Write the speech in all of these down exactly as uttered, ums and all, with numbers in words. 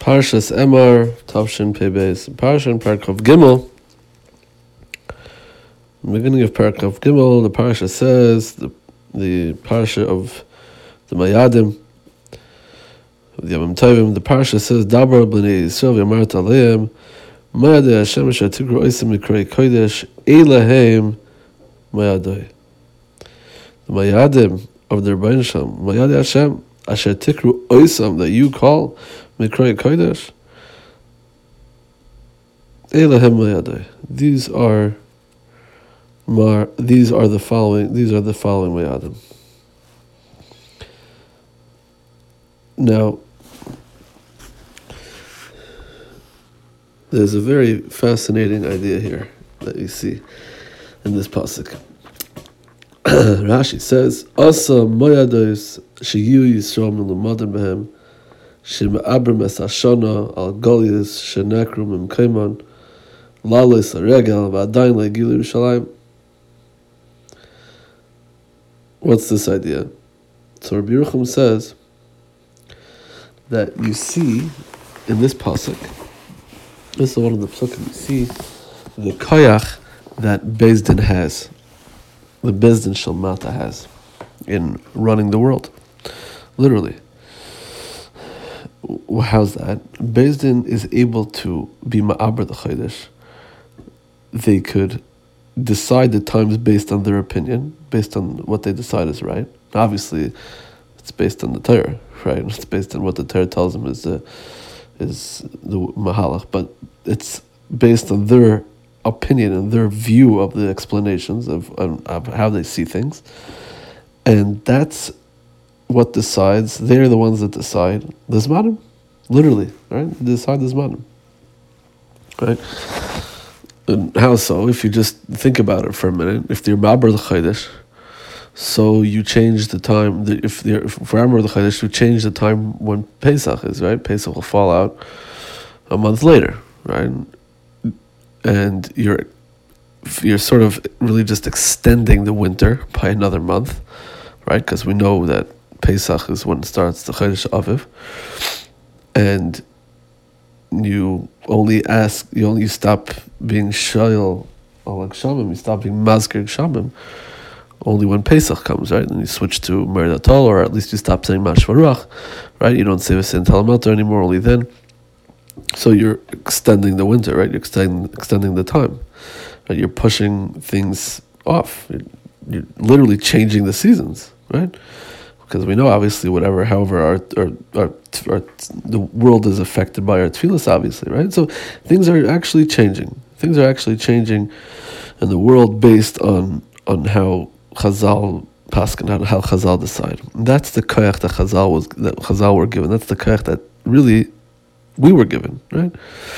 Parshas Emor, Tavshin Pei-Beis. Parsha Parakov Gimel. In the beginning of Parakov Gimel, the Parsha says, the, the Parsha of the Mayadim, of the Yamim Tovim, the Parsha says, Dabar b'nei Yisrael v'yamart aleim, Mayadei Hashem asher tikru oisem mikrei kodesh, Eilahem Mayadei. The Mayadim of the Rebbeinu Shalom, Mayadei Hashem, asher tikru oisem, that you call mikrei kodesh, Eilahem Mayadei. These are Mar, these are the following. These are the following Mayadim. Now, there's a very fascinating idea here that you see in this pasuk. Rashi says, "Asa Mayados sheyu Yisrael milumadim behem shema'abrim es hashana al golias shenekru mimkeiman lales haregel v'adayin le'gilu Yerushalayim." What's this idea? So Rabbi Yerucham says that you see in this pasuk, this is one of the psukim, you see the koyach that Beis Din has, the Beis Din Shel Mata has in running the world. Literally. How's that? Beis Din is able to be ma'aber the chodesh. They could decide the times based on their opinion, based on what they decide is right. Obviously, it's based on the Torah, right? It's based on what the Torah tells them is the is the mahalach, but it's based on their opinion and their view of the explanations of, of, of how they see things, and that's what decides. They're the ones that decide the zmanim, literally, right? They decide the zmanim, right? And how so? If you just think about it for a minute, if you're Ma'aber the Chodesh, so you change the time. If you're for Amar the Chodesh, you change the time when Pesach is, right? Pesach will fall out a month later, right? And you're you're sort of really just extending the winter by another month, right? Because we know that Pesach is when it starts the Chodesh Aviv, and you only ask, you only stop being shayil al Shamim, you stop being mazkir Shamim only when Pesach comes, right? And you switch to Merid Atol, or at least you stop saying Mashvaruach, right? You don't say V'sein Talamelta anymore, only then. So you're extending the winter, right? You're extending extending the time, right? You're pushing things off. You're, you're literally changing the seasons, right? Because we know, obviously, whatever, however, our, our, our, our the world is affected by our tefillas, obviously, right? So things are actually changing. Things are actually changing in the world based on on how Chazal paskin, how, how Chazal decide. And that's the koyach that Chazal was that Chazal were given. That's the koyach that really we were given, right?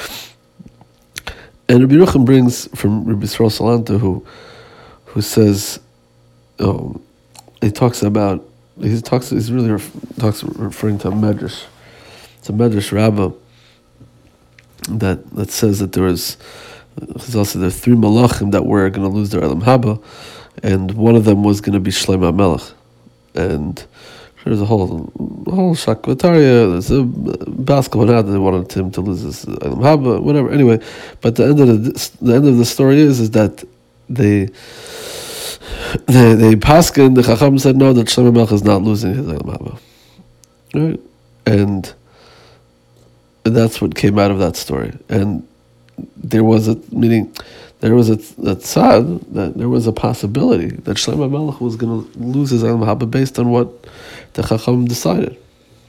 And Rabbi Yerucham brings from Rabbi Yisrael Salanta, who who says, um, he talks about. He talks. He's really ref, talks referring to a medrash. It's a medrash rabbah that that says that there was. Chazal said there are three malachim that were going to lose their elam haba, and one of them was going to be Shlomo HaMelech. And there's a whole a whole shakvataria. There's a basketball now that they wanted him to lose his elam haba, whatever. Anyway, but the end of the the end of the story is is that they. The the paskin, the Chacham said no, that Shlomo HaMelech is not losing his elam haba, right? And that's what came out of that story. And there was a meaning, there was a, a tzad, that there was a possibility that Shlomo HaMelech was going to lose his elam haba based on what the Chacham decided.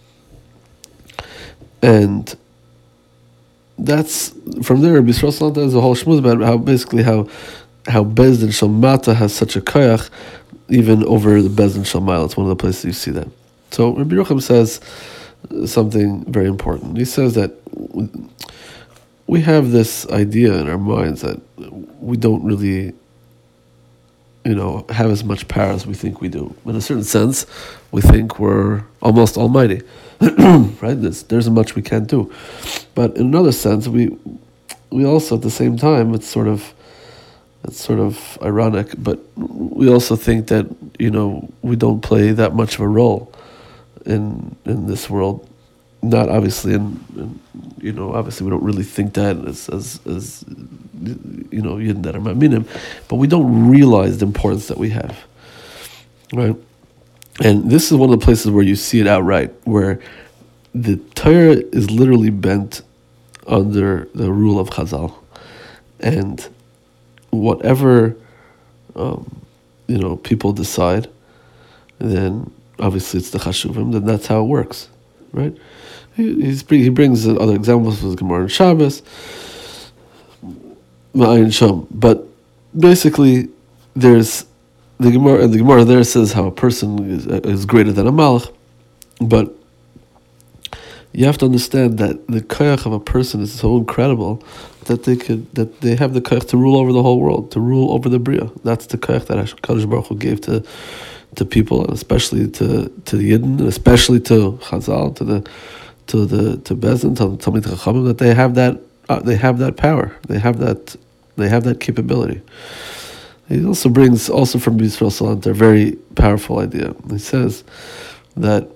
And that's from there. Rabbi Yisrael Salanta has a whole shmuz about how basically how. how Beis Din Shel Mata has such a koyach even over the Beis Din Shel Ma'ala. It's one of the places you see that. So Rabbi Yerucham says something very important. He says that we have this idea in our minds that we don't really, you know, have as much power as we think we do. In a certain sense, we think we're almost almighty, right? There's, there's much we can't do. But in another sense, we we also at the same time, it's sort of It's sort of ironic, but we also think that, you know, we don't play that much of a role in in this world, not obviously, and, and you know, obviously we don't really think that as as, as you know, Yidden that are Ma'aminim, but we don't realize the importance that we have, right? And this is one of the places where you see it outright, where the Torah is literally bent under the rule of Chazal, and whatever um, you know people decide, then obviously it's the Chashuvim. Then that's how it works, right? He he's, he brings other examples with Gemara and Shabbos, Ma'ayin Sham. But basically, there's the Gemara, and the Gemara there says how a person is, is greater than a Malach, but you have to understand that the koyach of a person is so incredible that they could that they have the koyach to rule over the whole world, to rule over the bria. That's the koyach that Kadosh Baruch Hu gave to to people, and especially to to the Yidden, and especially to Chazal, to the to the to Bezdin, to Talmid Chachamim, that they have that uh, they have that power, they have that they have that capability. He also brings also from Yisrael Salant a very powerful idea. He says that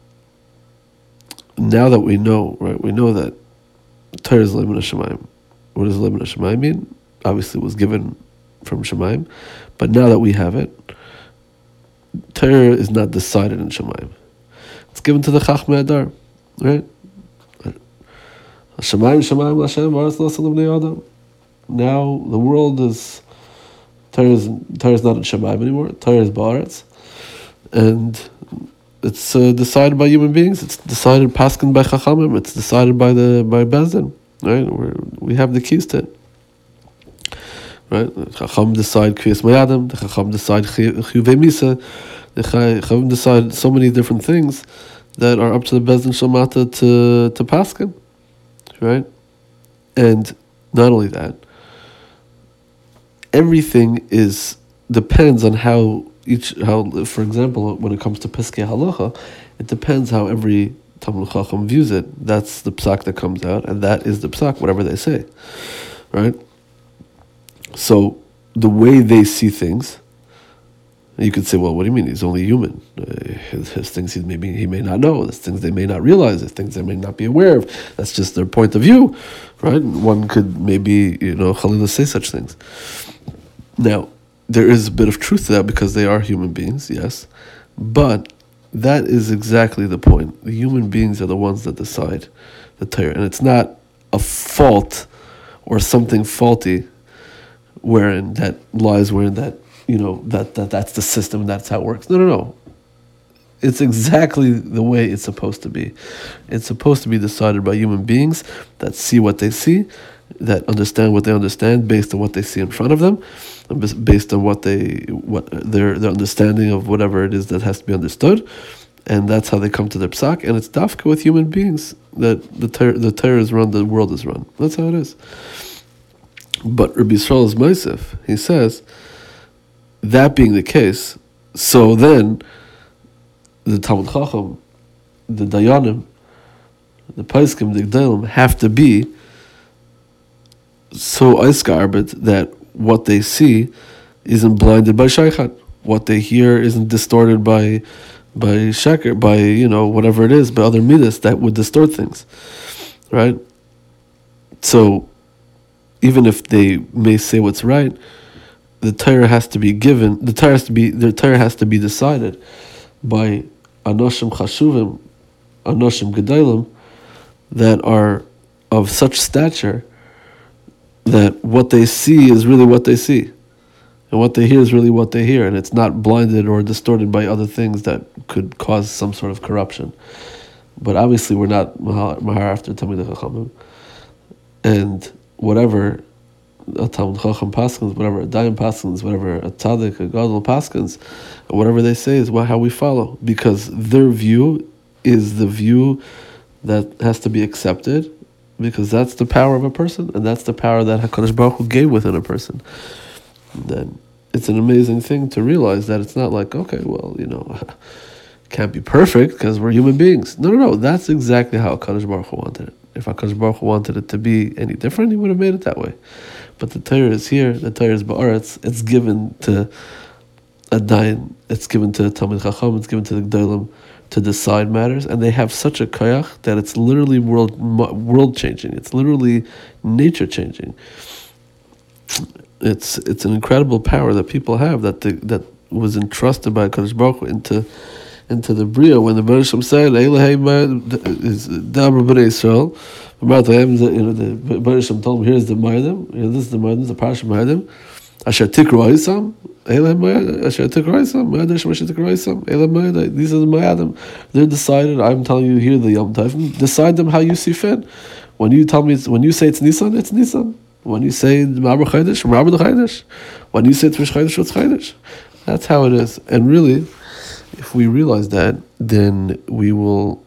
now that we know, right, we know that Torah is Leimun HaShamayim. What does Leimun HaShamayim mean? Obviously it was given from Shamayim, but now that we have it, Torah is not decided in Shamayim. It's given to the Chachmei Adar, right? Shamayim, Shamayim, L'Hashem, V'aretz L'Aseh L'Bnei Adam. Now the world is, Torah is, Torah is not in Shamayim anymore, Torah is Ba'aretz, and it's uh, decided by human beings. It's decided paskin by Chachamim. It's decided by the by Bezdin, right? We're, we have the keys to it, right? Chacham decide Kriyas Mayadam. The Chacham decide Chiyuvei Misa. The Chacham decide so many different things that are up to the Bezdin Shalmata to to paskin, right? And not only that, everything is depends on how. Each how, for example, when it comes to Piskei Halacha, it depends how every Talmid Chacham views it. That's the psak that comes out, and that is the psak, whatever they say, right? So the way they see things, you could say, well, what do you mean? He's only human. Uh, his, his things he maybe he may not know. There's things they may not realize. There's things they may not be aware of. That's just their point of view, right? One could maybe, you know, Chalila say such things. Now, there is a bit of truth to that because they are human beings, yes, but that is exactly the point. The human beings are the ones that decide the Torah, and it's not a fault or something faulty wherein that lies wherein that, you know, that, that that's the system, that's how it works. No, no, no. It's exactly the way it's supposed to be. It's supposed to be decided by human beings that see what they see, that understand what they understand based on what they see in front of them, based on what they what their their understanding of whatever it is that has to be understood, and that's how they come to their psak. And it's dafka with human beings that the ter- the Torah is run, the world is run. That's how it is. But Rabbi Yisrael is Meisef. He says, that being the case, so then the Talmid Chacham, the Dayanim, the Paiskim, the Gdalim have to be so Eisgarbet that what they see isn't blinded by Shaykhat. What they hear isn't distorted by by Sheker, by, you know, whatever it is, by other midas that would distort things. Right? So even if they may say what's right, the Torah has to be given, the Torah has to be the Torah has to be decided by Anoshim Chashuvim, Anoshim Gedalim, that are of such stature that what they see is really what they see, and what they hear is really what they hear, and it's not blinded or distorted by other things that could cause some sort of corruption. But obviously we're not Mahar after Talmid Chachamim, and whatever a Talmid Chacham paskins, whatever a Dayan paskins, whatever a Tzaddik, a Gadol paskins, whatever they say is what, how we follow, because their view is the view that has to be accepted, because that's the power of a person, and that's the power that HaKadosh Baruch Hu gave within a person. Then it's an amazing thing to realize that it's not like, okay, well, you know, can't be perfect because we're human beings. No, no, no. That's exactly how HaKadosh Baruch Hu wanted it. If HaKadosh Baruch Hu wanted it to be any different, he would have made it that way. But the Torah is here. The Torah is Ba'aretz. It's given to a Dayan. It's given to Talmid Chacham. It's given to the Gdalim to decide matters, and they have such a koyach that it's literally world world changing. It's literally nature changing. It's it's an incredible power that people have that the, that was entrusted by Kadosh Baruch Hu into into the bria. When the Baruch Shem said, "Elohei is Dabra Bnei Yisrael," you know, the Baruch Shem told him, "Here's the Ma'adim. You know, this is the Ma'adim, the Parashat Ma'adim. Asher Tikru Aisam, Elohei Ma'adim. Asher Tikru Aisam, Ma'adim Shem Asher Tikru Aisam, Elohei Ma'adim. These are the Ma'adim. They're decided. I'm telling you here, the Yom Tov. Decide them how you see fit. When you tell me, when you say it's Nisan, it's Nisan. When you say Ma'aber Chodesh, Ma'aber Chodesh. When you say it's Rosh Chodesh, it's Chodesh. That's how it is. And really, if we realize that, then we will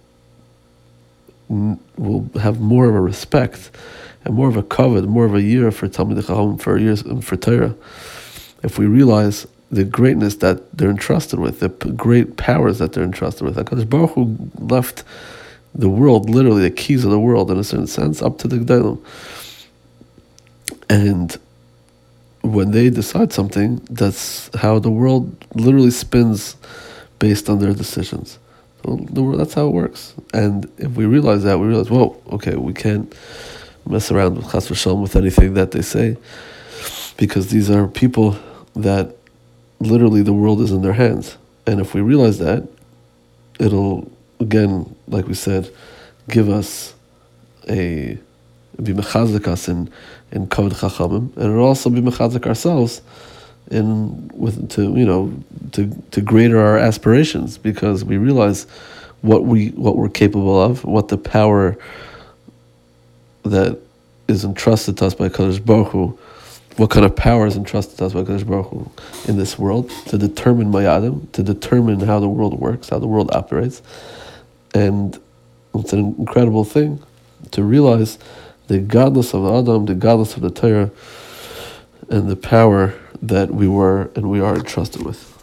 will have more of a respect and more of a kavod, more of a year for Talmidei Chacham, for years for Torah. If we realize the greatness that they're entrusted with, the p- great powers that they're entrusted with, HaKadosh Baruch Hu left the world, literally the keys of the world, in a certain sense, up to the Gedolim. And when they decide something, that's how the world literally spins based on their decisions. So the world, that's how it works. And if we realize that, we realize, whoa, okay, we can't mess around with Chas v'Shalom with anything that they say, because these are people that literally the world is in their hands. And if we realize that, it'll, again, like we said, give us a, be mechazik us in, in Kavod Chachamim, and it'll also be mechazik ourselves in with to you know to to greater our aspirations, because we realize what we what we're capable of, what the power that is entrusted to us by Kadosh Baruch Hu, what kind of power is entrusted to us by Kadosh Baruch Hu in this world to determine Mayadim, to determine how the world works, how the world operates. And it's an incredible thing to realize the godless of the Adam, the godless of the Torah, and the power that we were and we are entrusted with.